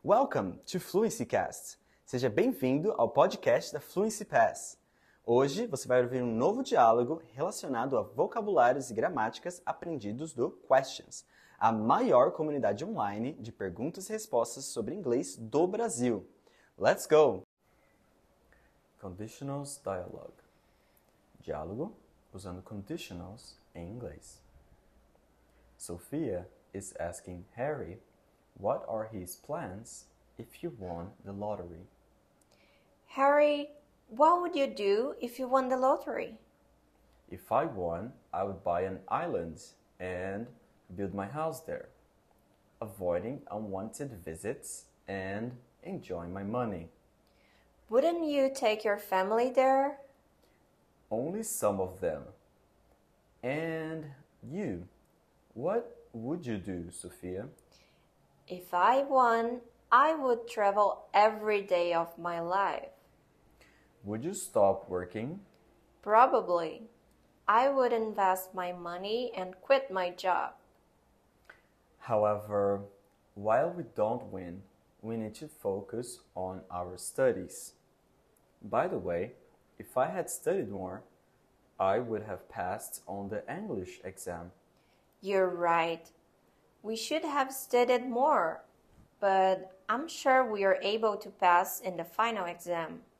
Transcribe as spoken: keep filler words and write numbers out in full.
Welcome to FluencyCast. Seja bem-vindo ao podcast da Fluency Pass. Hoje você vai ouvir um novo diálogo relacionado a vocabulários e gramáticas aprendidos do Questions, a maior comunidade online de perguntas e respostas sobre inglês do Brasil. Let's go! Conditionals Dialogue. Diálogo usando conditionals em inglês. Sophia is asking Harry what are his plans if you won the lottery. Harry, what would you do if you won the lottery? If I won, I would buy an island and build my house there, avoiding unwanted visits and enjoying my money. Wouldn't you take your family there? Only some of them. And you, what would you do, Sophia? If I won, I would travel every day of my life. Would you stop working? Probably. I would invest my money and quit my job. However, while we don't win, we need to focus on our studies. By the way, if I had studied more, I would have passed on the English exam. You're right. We should have studied more, but I'm sure we are able to pass in the final exam.